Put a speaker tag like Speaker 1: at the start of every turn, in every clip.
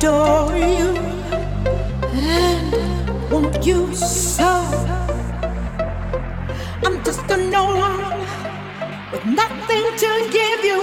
Speaker 1: adore you and want you so. I'm just a no one with nothing to give you.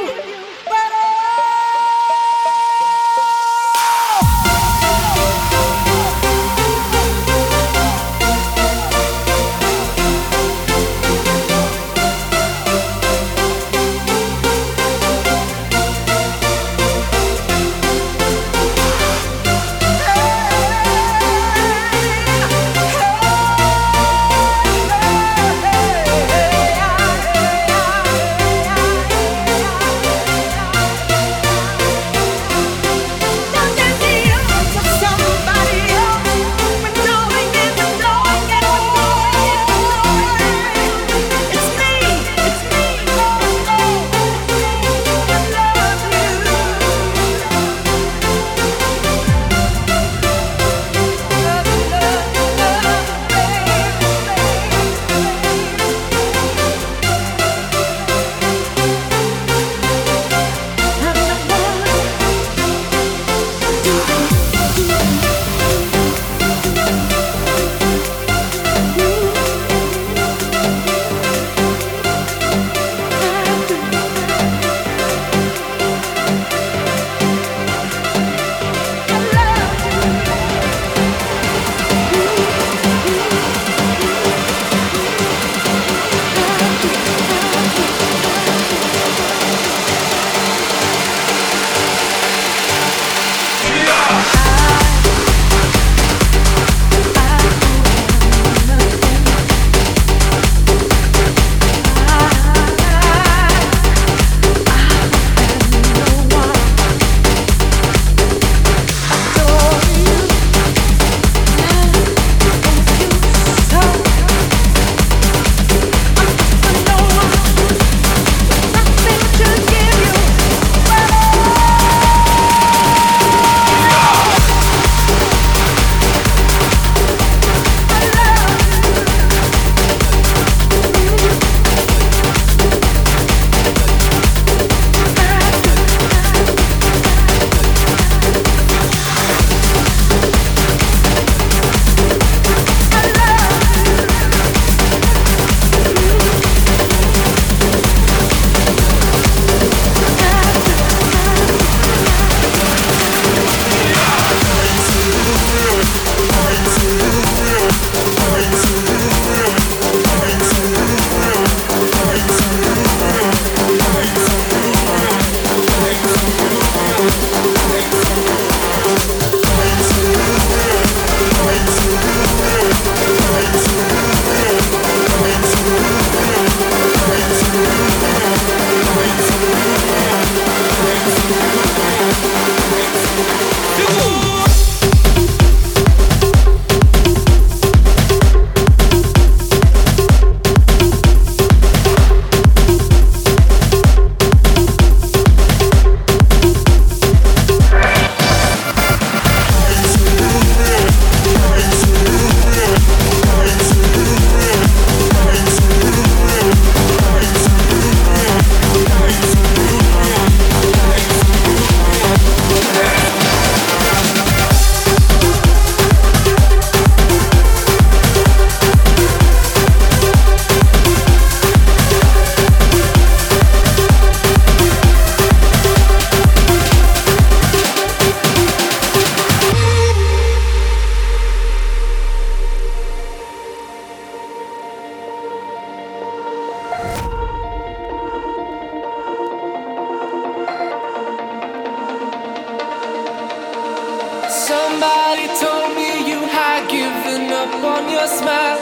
Speaker 2: Somebody told me you had given up on your smile.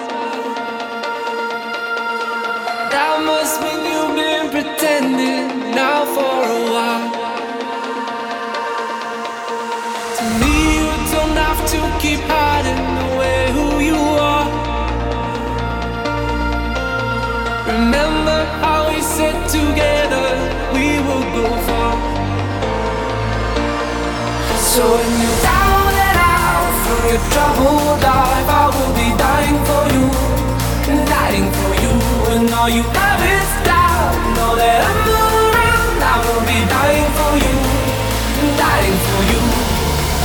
Speaker 2: That must mean you've been pretending now for a while. To me, you don't have to keep hiding away who you are. Remember how we said together we would go far. So when you're down and out from your troubled life, I will be dying for you, dying for you. When all you have is doubt, know that I'm around. I will be dying for you, dying for you.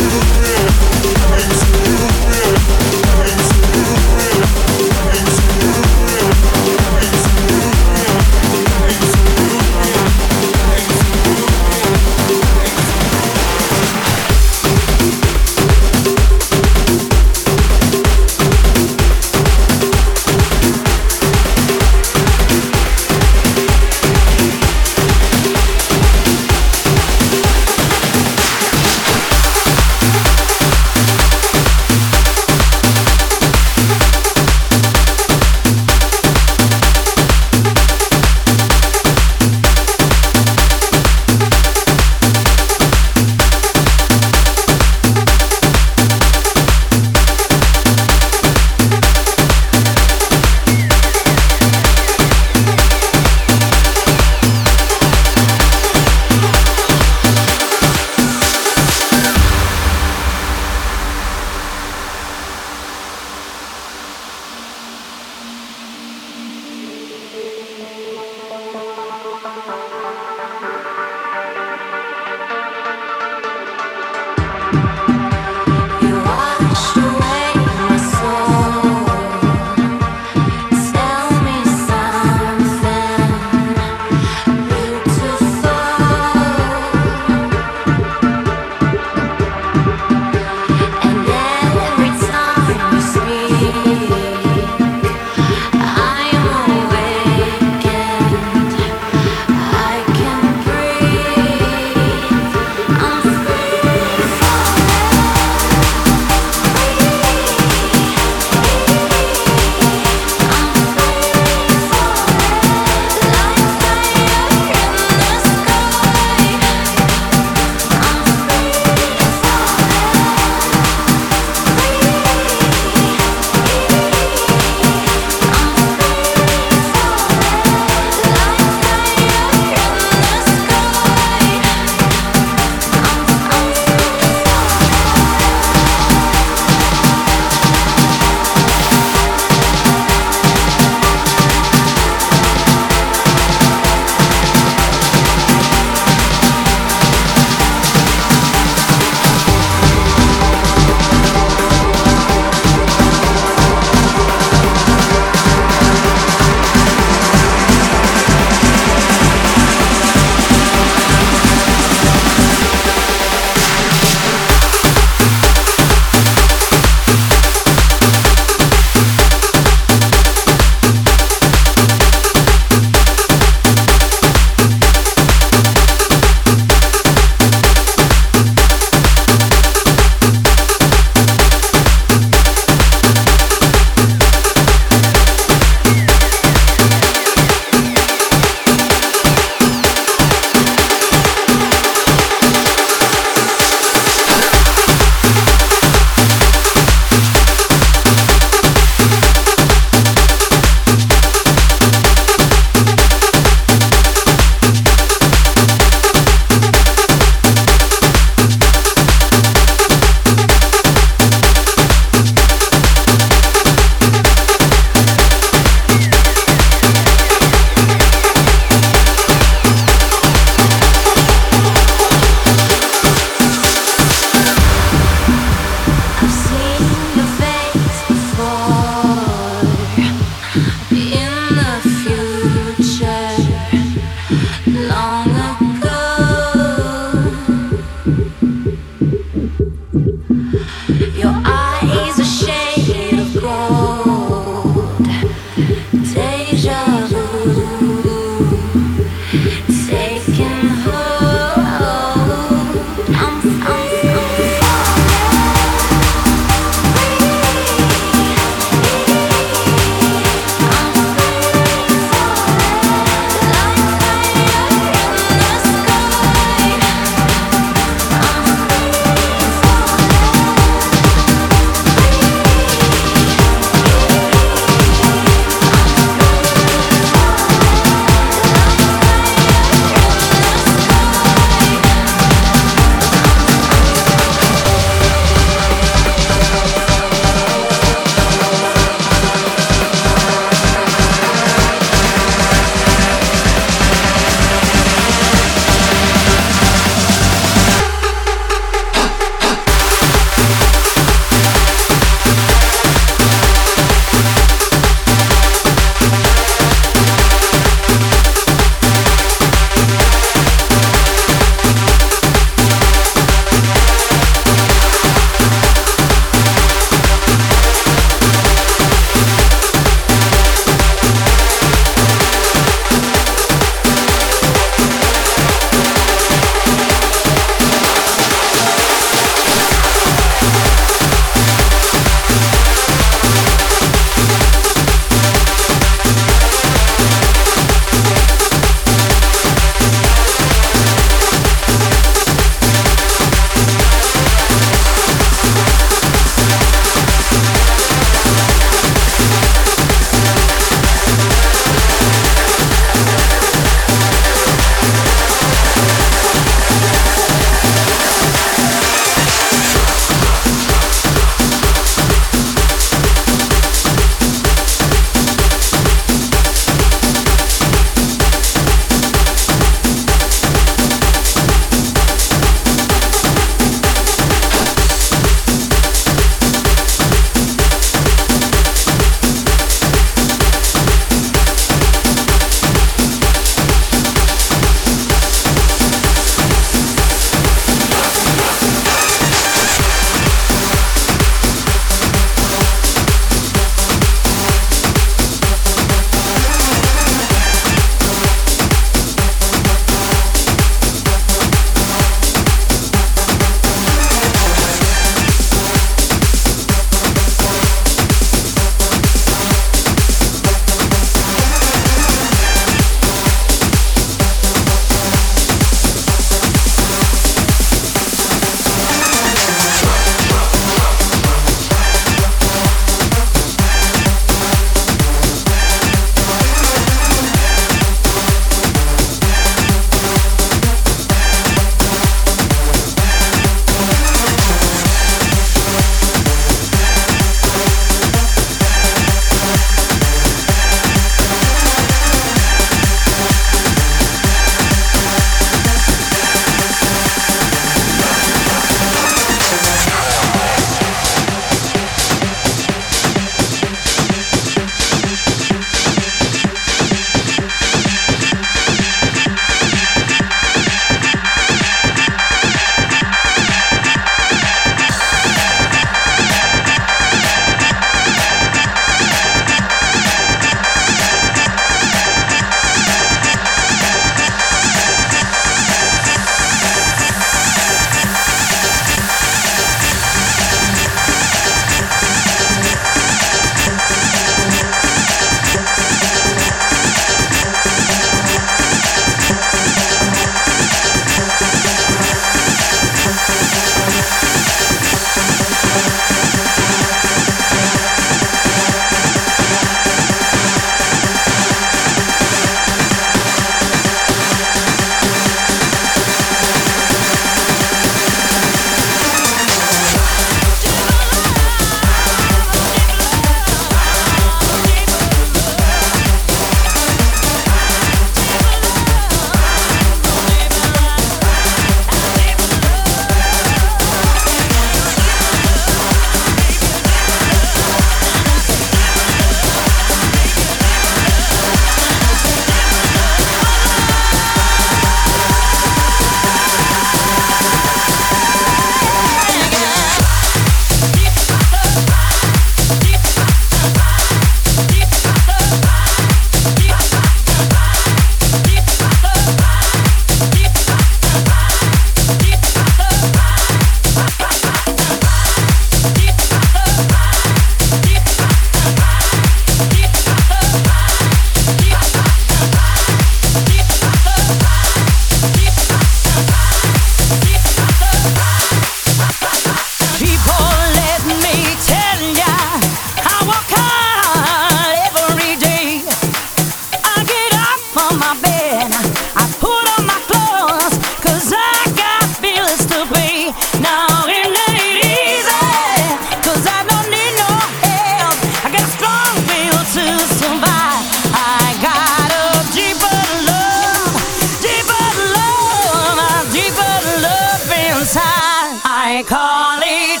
Speaker 3: I call it.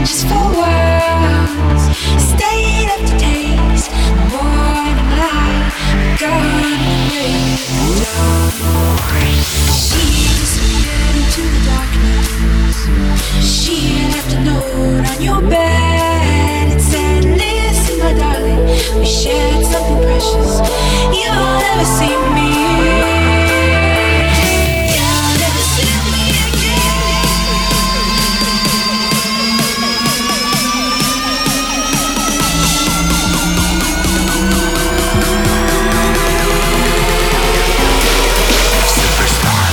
Speaker 3: just for words. Stayed up to taste the morning light. Gonna break down. She disappeared into the darkness. She left a note on your bed. It said, listen, my darling, we shared something precious. You'll never see me. You'll never see me again.
Speaker 2: Superstar.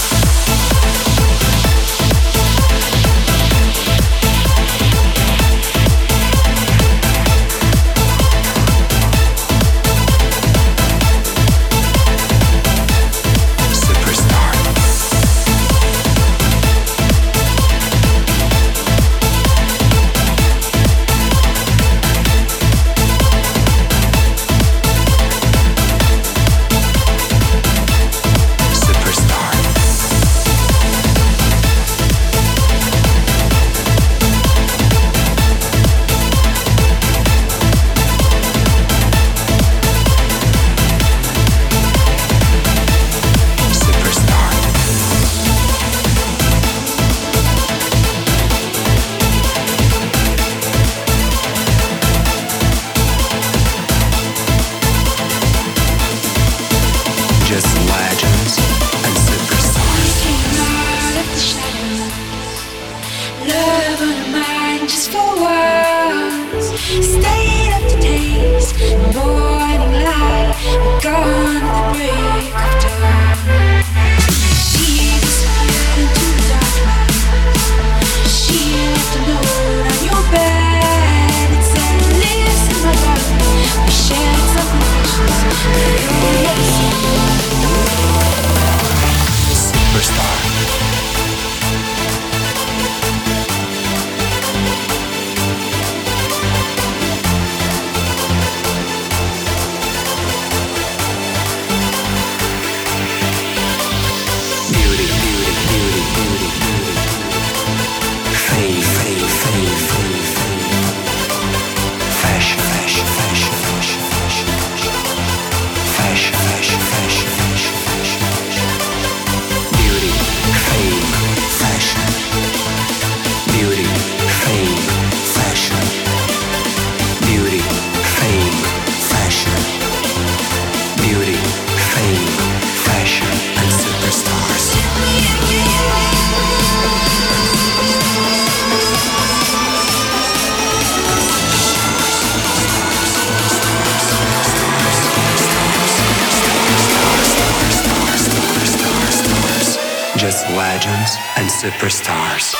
Speaker 2: Just legends and superstars.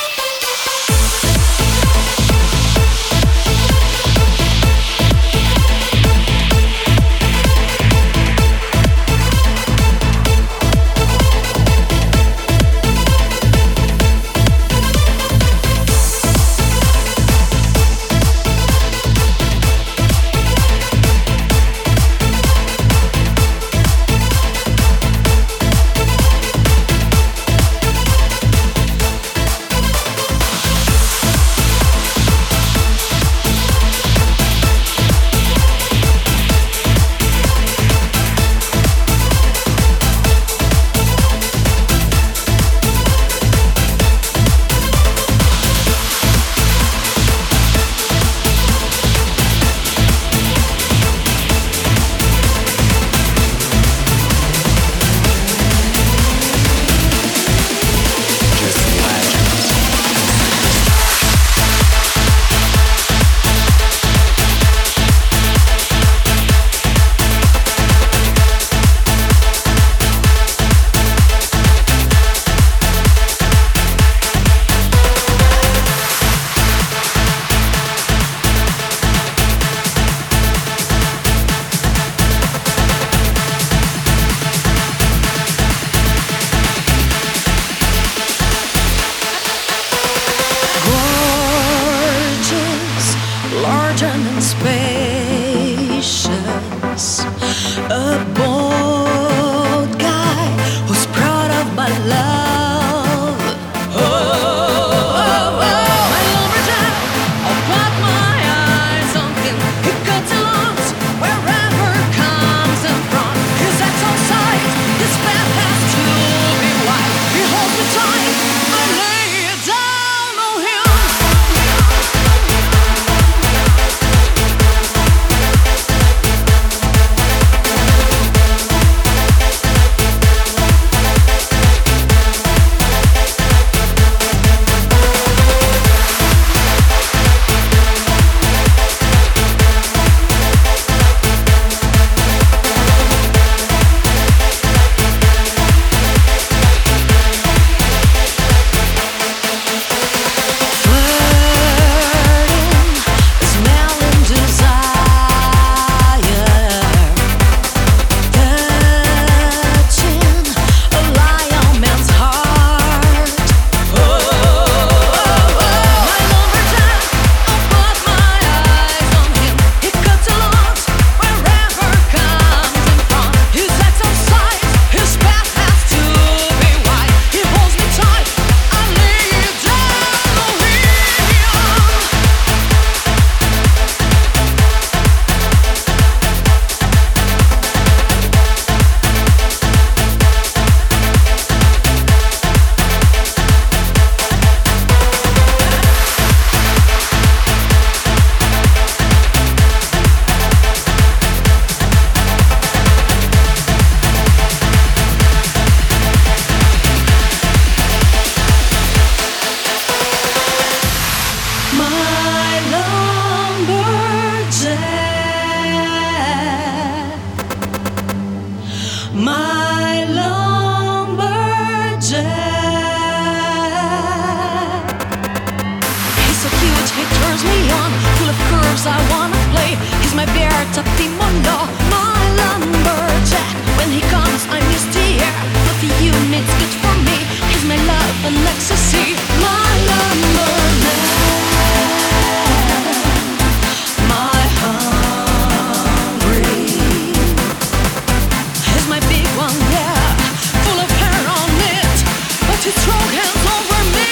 Speaker 3: Tapping on law, my lumberjack. When he comes, I'm his dear. Fluffy units, good for me. He's my love and ecstasy. My lumberman, my hungry. He's my big one, yeah. Full of hair on it, but his strong hands over me.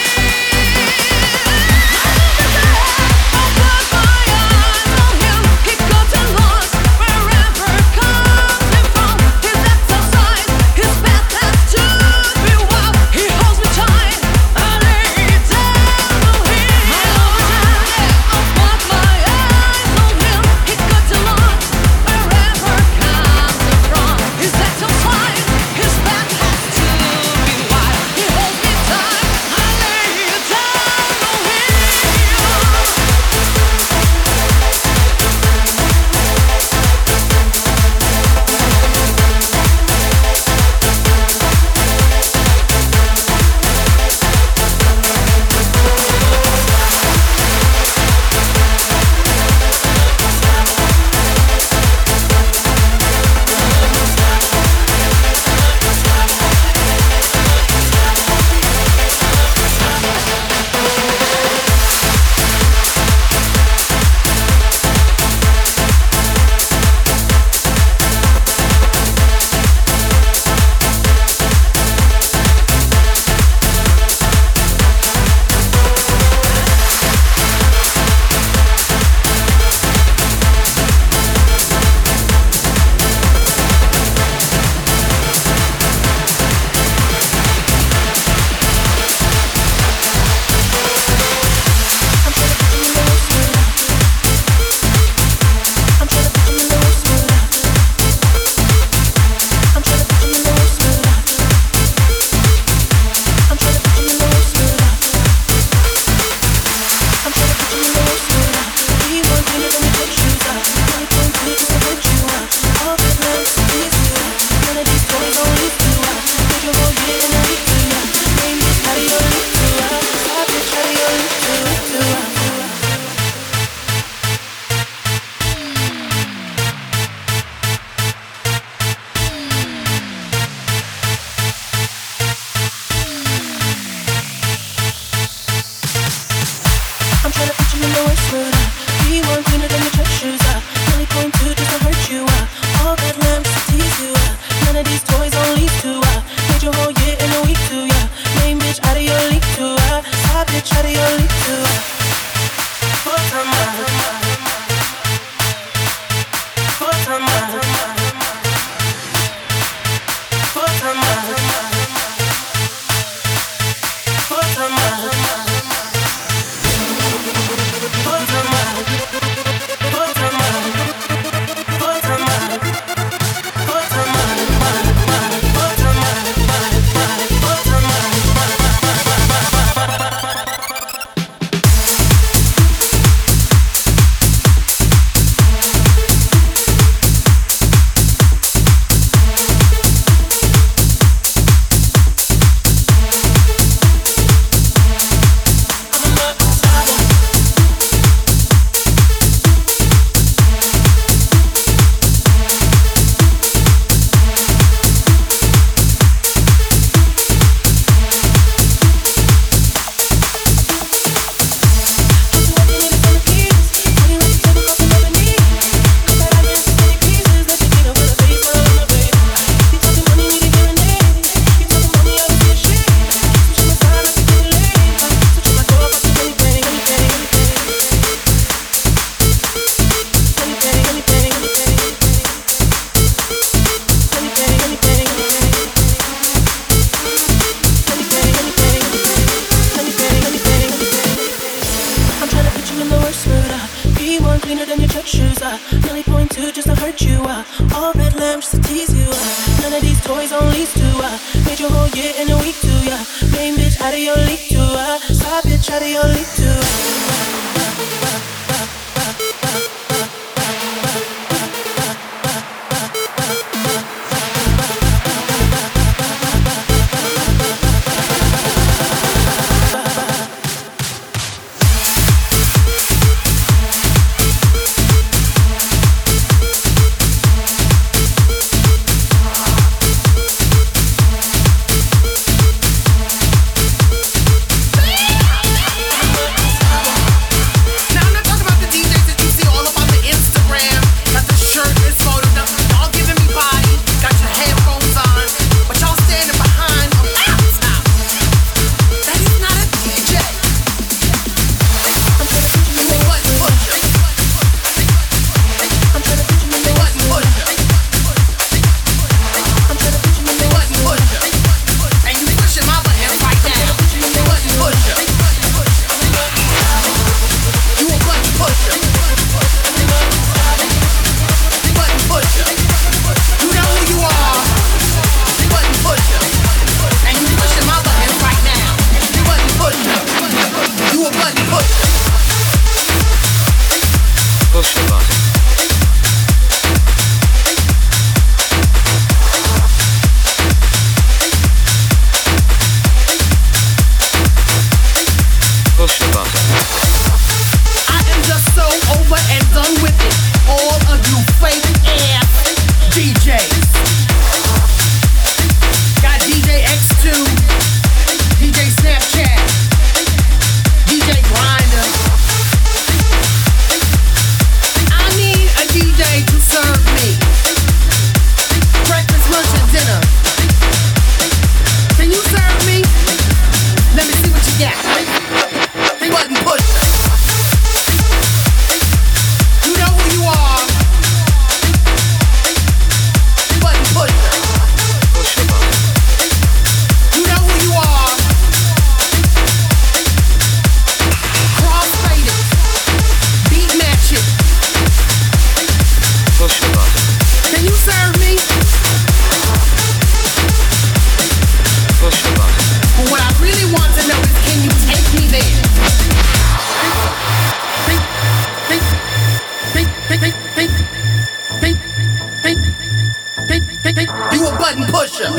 Speaker 2: button pusher.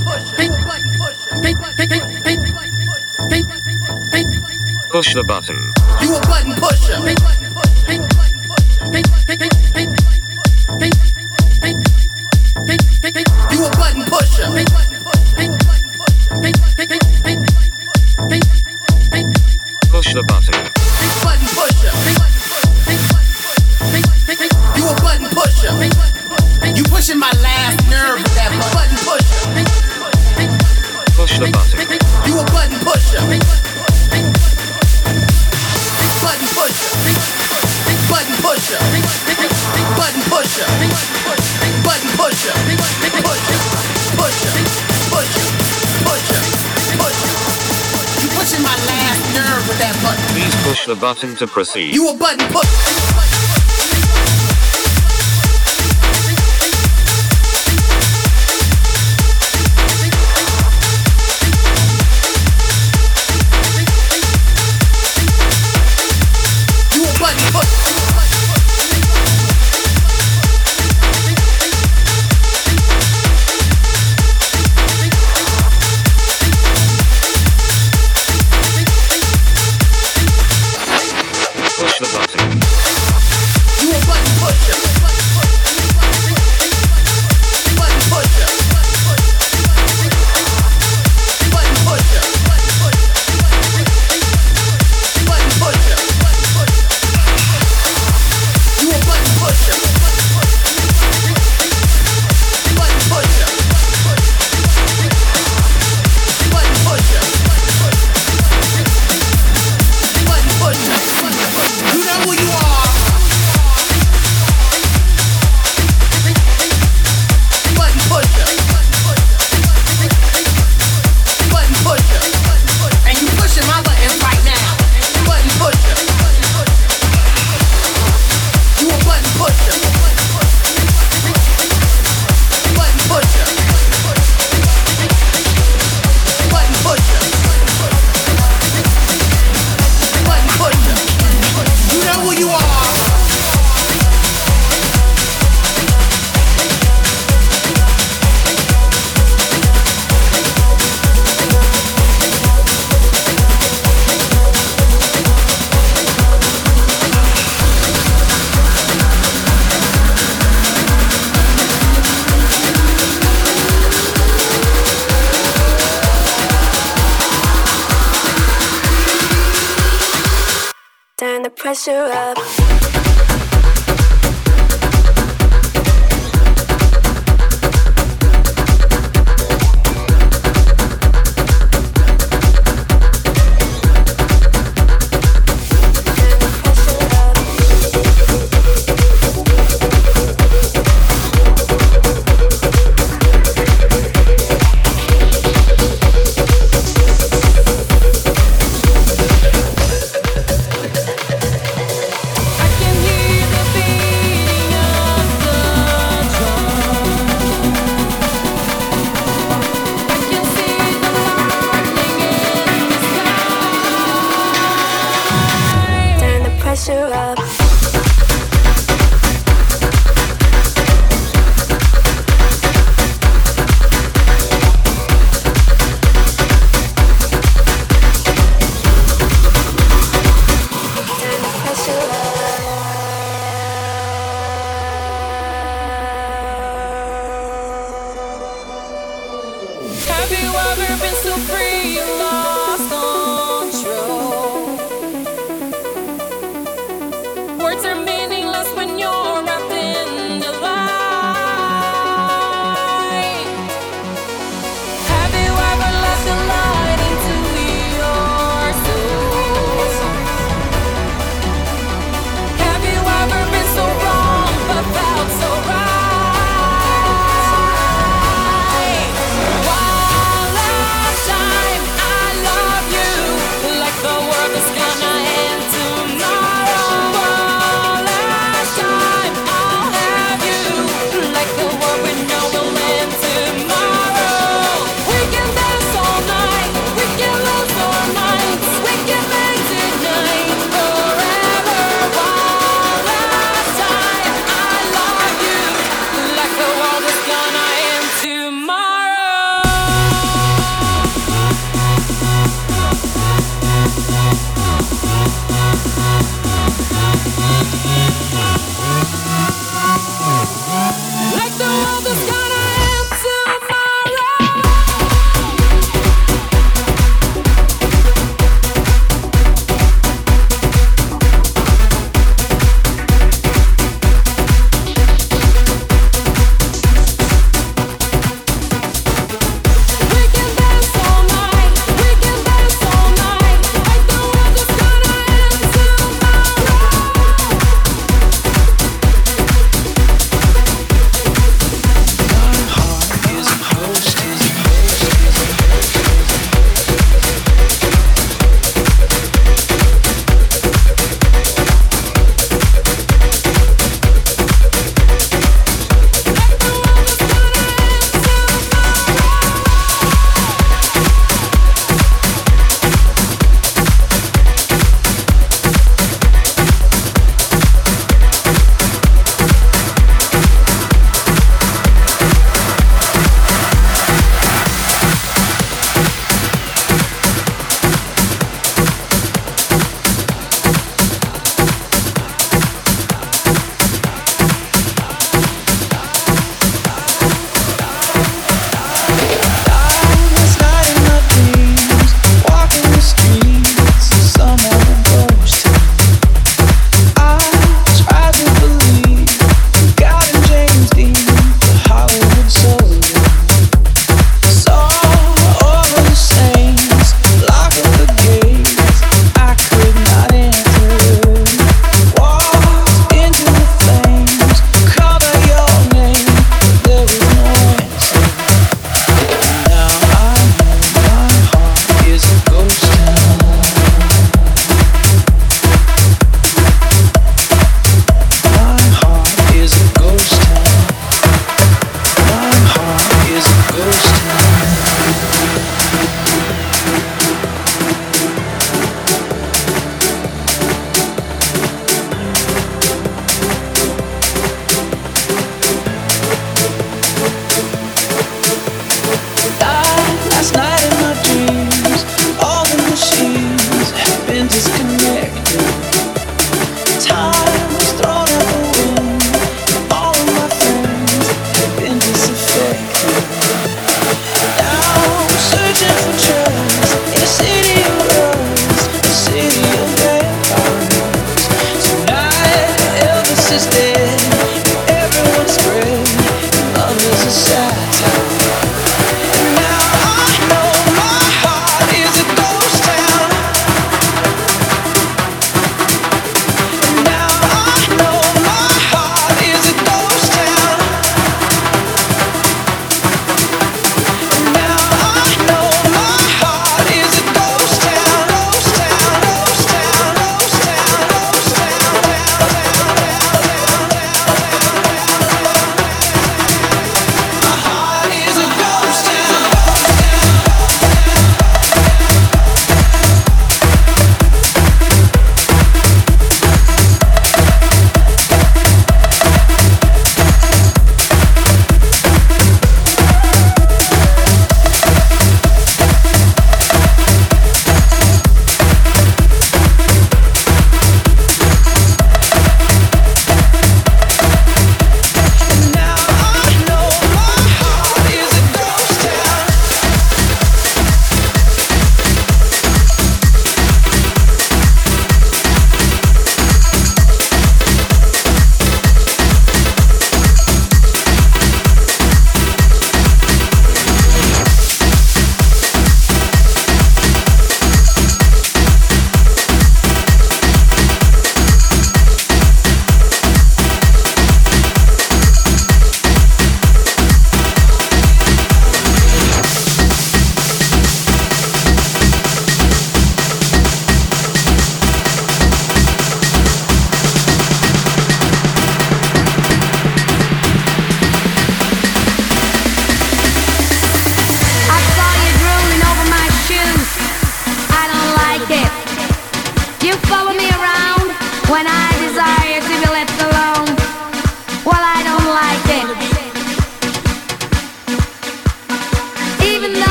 Speaker 4: Push the button.
Speaker 2: You a button pusher. You a button pusher.
Speaker 4: Push the button.
Speaker 2: Button pusher. You a button pusher. You pushing my last nerve with that button pusher.
Speaker 4: Push the button.
Speaker 2: You a button pusher. Button pusher. Button pusher. Button pusher. Button pusher. Pusher. Pusher. Pusher. Pusher. Pusher. You pushing my last nerve with that button.
Speaker 4: Please push the button to proceed.
Speaker 2: You a button pusher.
Speaker 4: Push the button.
Speaker 2: You a button pusher. Button pusher. Button pusher. Button pusher. You a button pusher. Button pusher. Button pusher. Button pusher. You know who you are. Button pusher. Button pusher. And you pushing my buttons right now. Button pusher. You a button pusher. Button pusher. Button pusher. Button pusher. You know who you are.
Speaker 3: Turn the pressure up. Pressure up.
Speaker 5: Have you ever been so free you lost control? Words are meaningless when you're wrapped in the light. Have you ever let the light into your soul? Have you ever been so wrong but felt so right? One last time.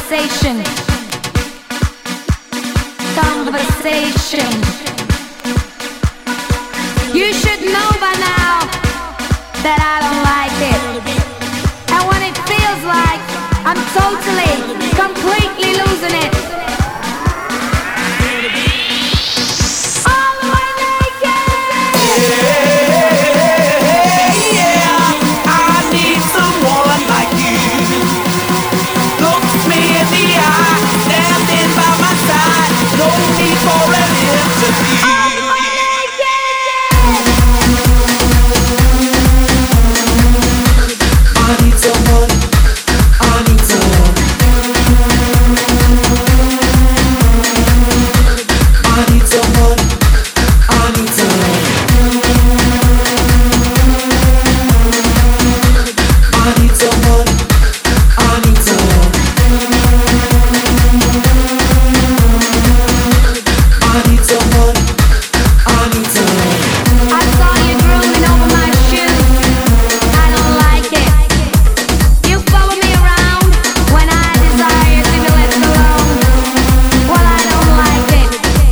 Speaker 6: conversation. Conversation. You should know by now that I don't like it. And when it feels like I'm totally, completely losing it. All the way naked.
Speaker 2: Yeah, I need someone like you. Looks me in the eye, standing by my side. No need for an interview. I need someone. I need someone. I need someone. I need someone. I need someone. I need someone. I need someone. I need someone.
Speaker 6: I saw you grooming over my shoes. I don't like it. You follow me around when I desire to be left alone. Well, I don't like it.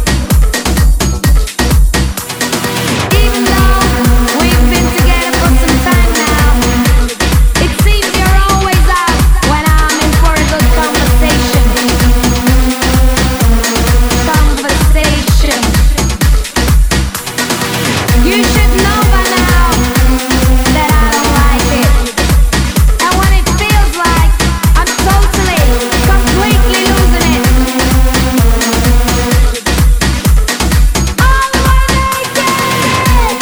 Speaker 6: Even though we've been together for some time now, it seems you're always out when I'm in for a good conversation. Conversation. You should know by now that I don't like it. And when it feels like I'm totally, completely losing it. All the way naked.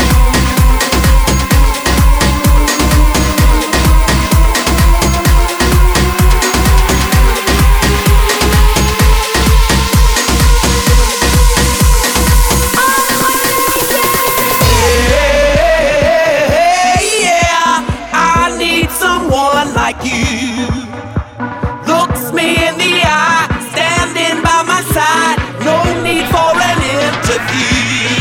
Speaker 2: Yeah, I need someone like you. Looks me in the eye, standing by my side. No need for an interview.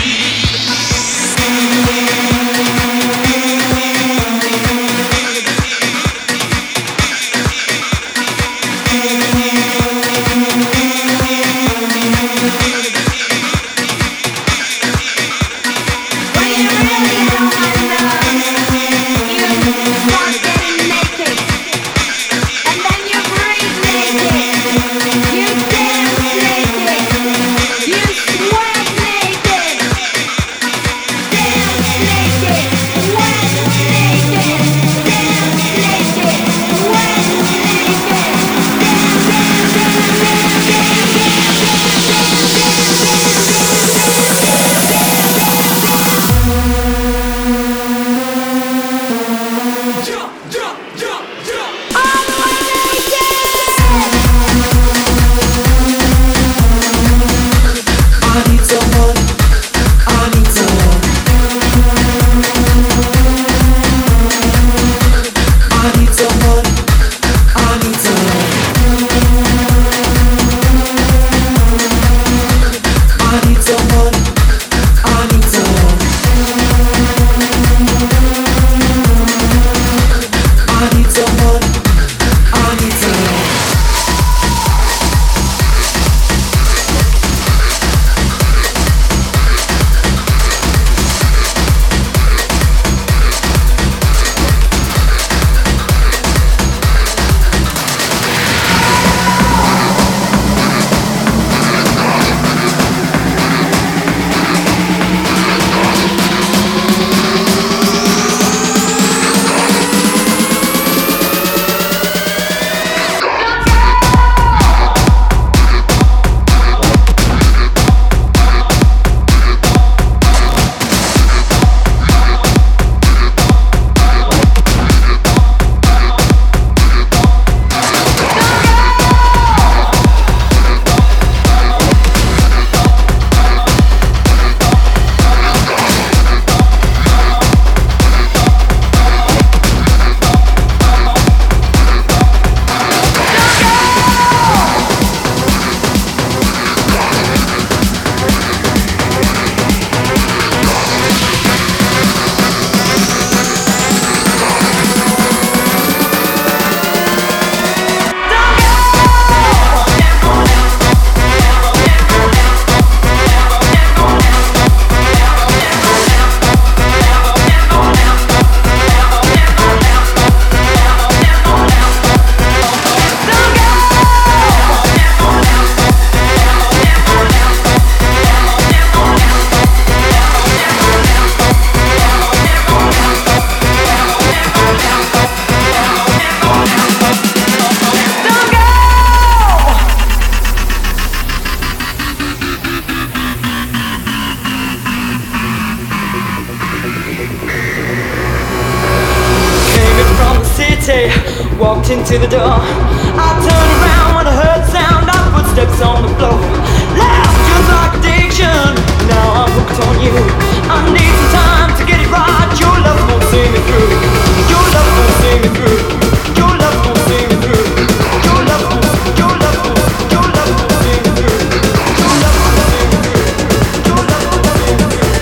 Speaker 6: When you really get on my nerves, you start getting naked. And then you breathe naked. You dance naked. You sweat naked. Dance naked. Sweat naked. Dance naked. Sweat naked. All the way naked.
Speaker 2: I need someone. I need someone. I need someone. I need someone. I need someone. I need someone. I need someone. I need someone.
Speaker 7: walked into the door. I turned around when I heard sound of footsteps on the floor. Left just like addiction, now I'm hooked on you. I need some time to get it right. Your love won't see me through. Your love won't see me through. Your love won't see me through. Your love won't, your love won't, your love won't see me through. Your love won't see me through. Your love won't see me through.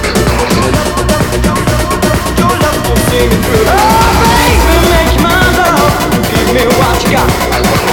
Speaker 7: Your love won't see me through. Oh, baby, make your mind up. Give me what you got.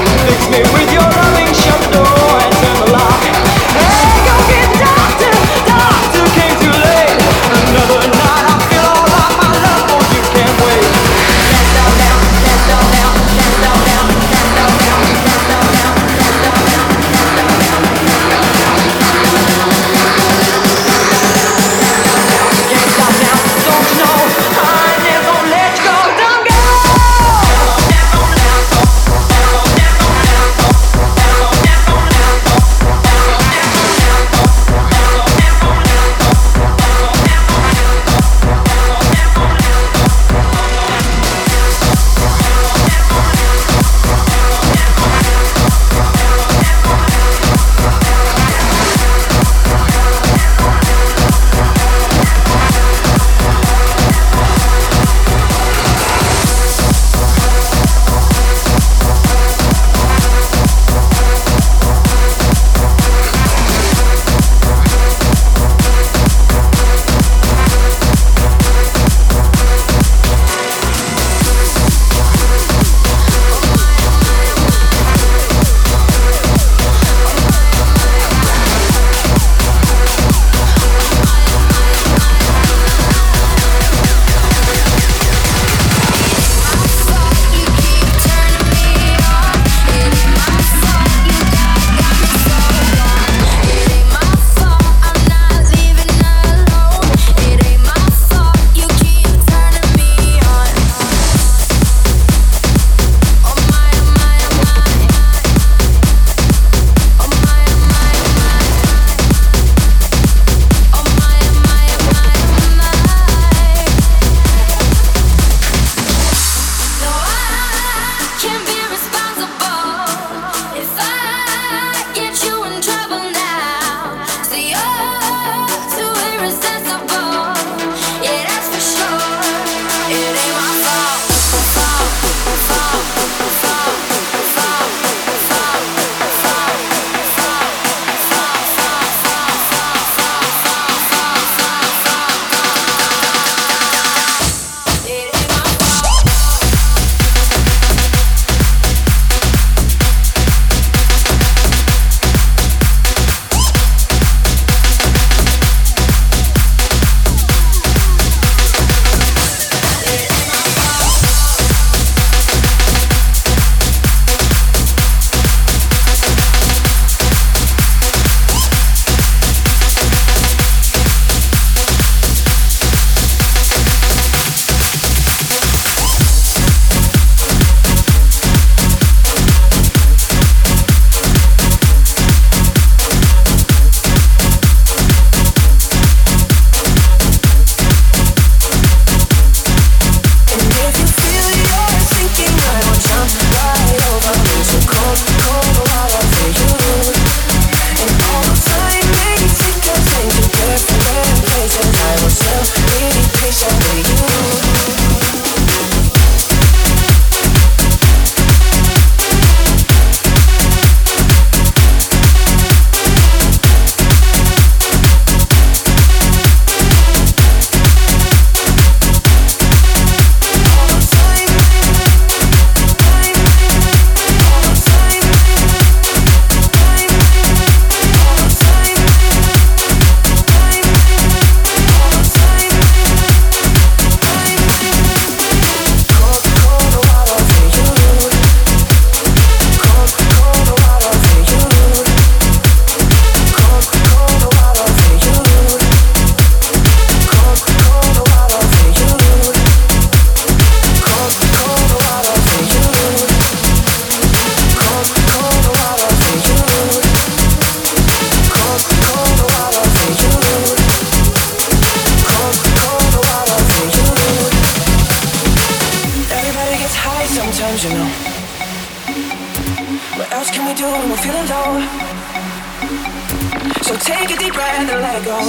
Speaker 8: rather let go.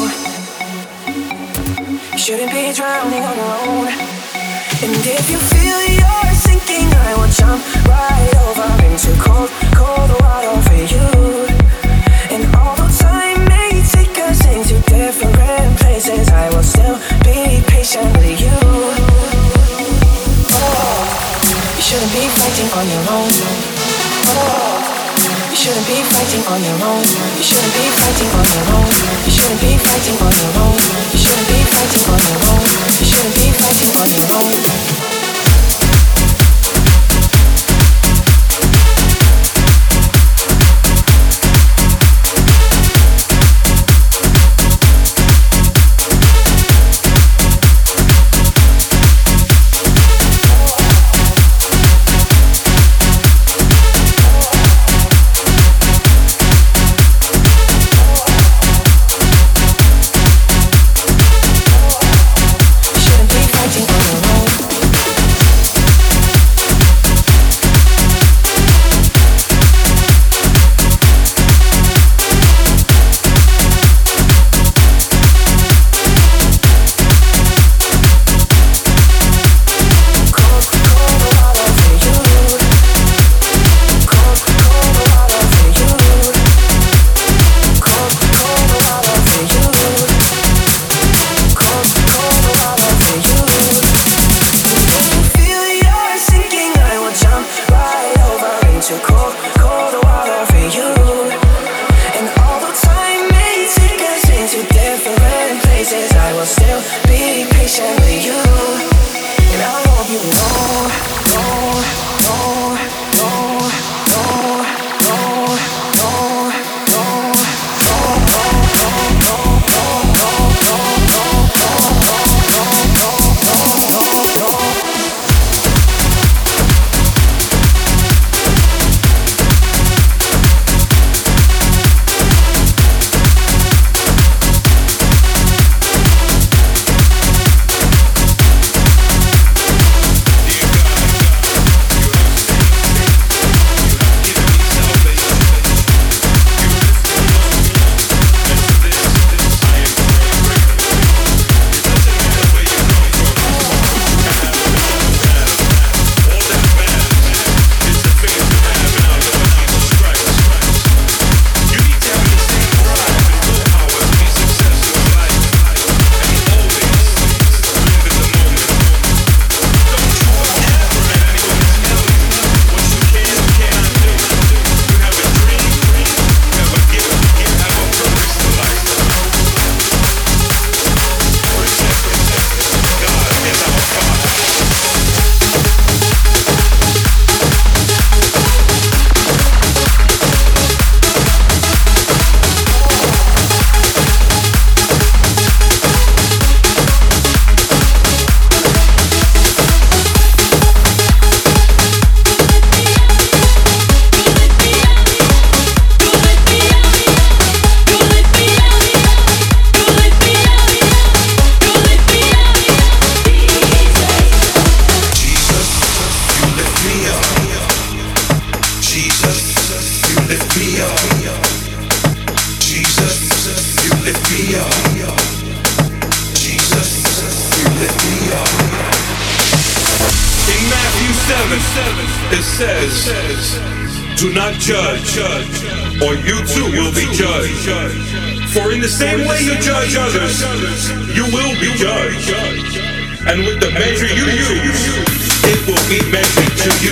Speaker 8: You shouldn't be drowning on your own. And if you feel you're sinking, I will jump right over into cold, cold water for you. And although time may take us into different places, I will still be patient with you. Oh, you shouldn't be fighting on your own. Oh, you shouldn't be fighting on your own. You shouldn't be fighting on your own. You shouldn't be fighting on your own. You shouldn't be fighting on your own. You shouldn't be fighting on your own.
Speaker 9: It says, do not judge, or you too will be judged. For in the same way you judge others, you will be judged. And with the measure you use, it will be measured to you.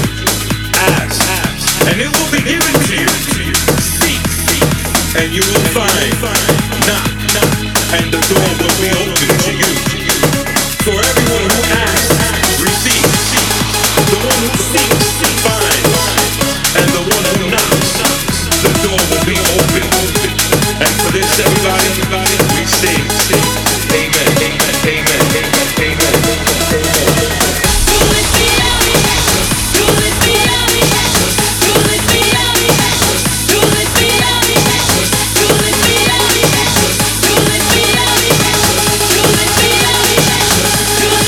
Speaker 9: Ask, and it will be given to you. Seek, and you will find. Knock, and the door will be open to you. For everyone who asks, receives. The one who seeks, finds. And the one who knocks, the door will be open. And for this, everybody, we sing. Amen, amen, amen, amen, amen.
Speaker 3: Do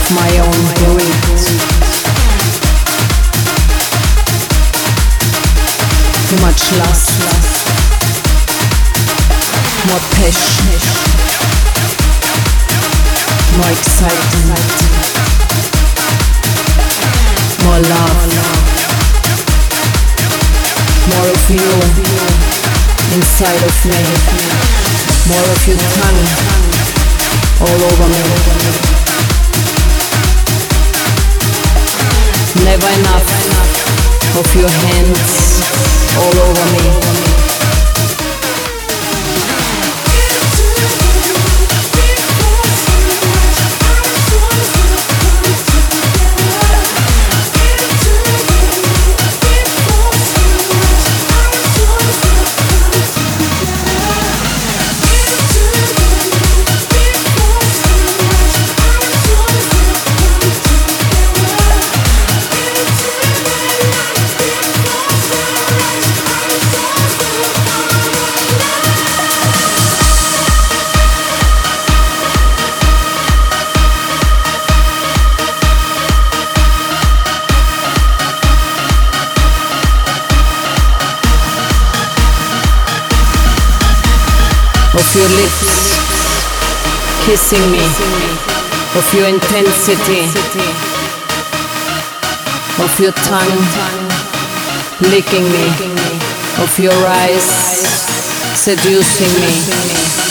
Speaker 1: my own greed. Too much lust, more passion, more excitement, more love, more of you inside of me, more of your tongue all over me. Never enough of your hands all over me. Of your lips kissing me, of your intensity, of your tongue licking me, of your eyes seducing me.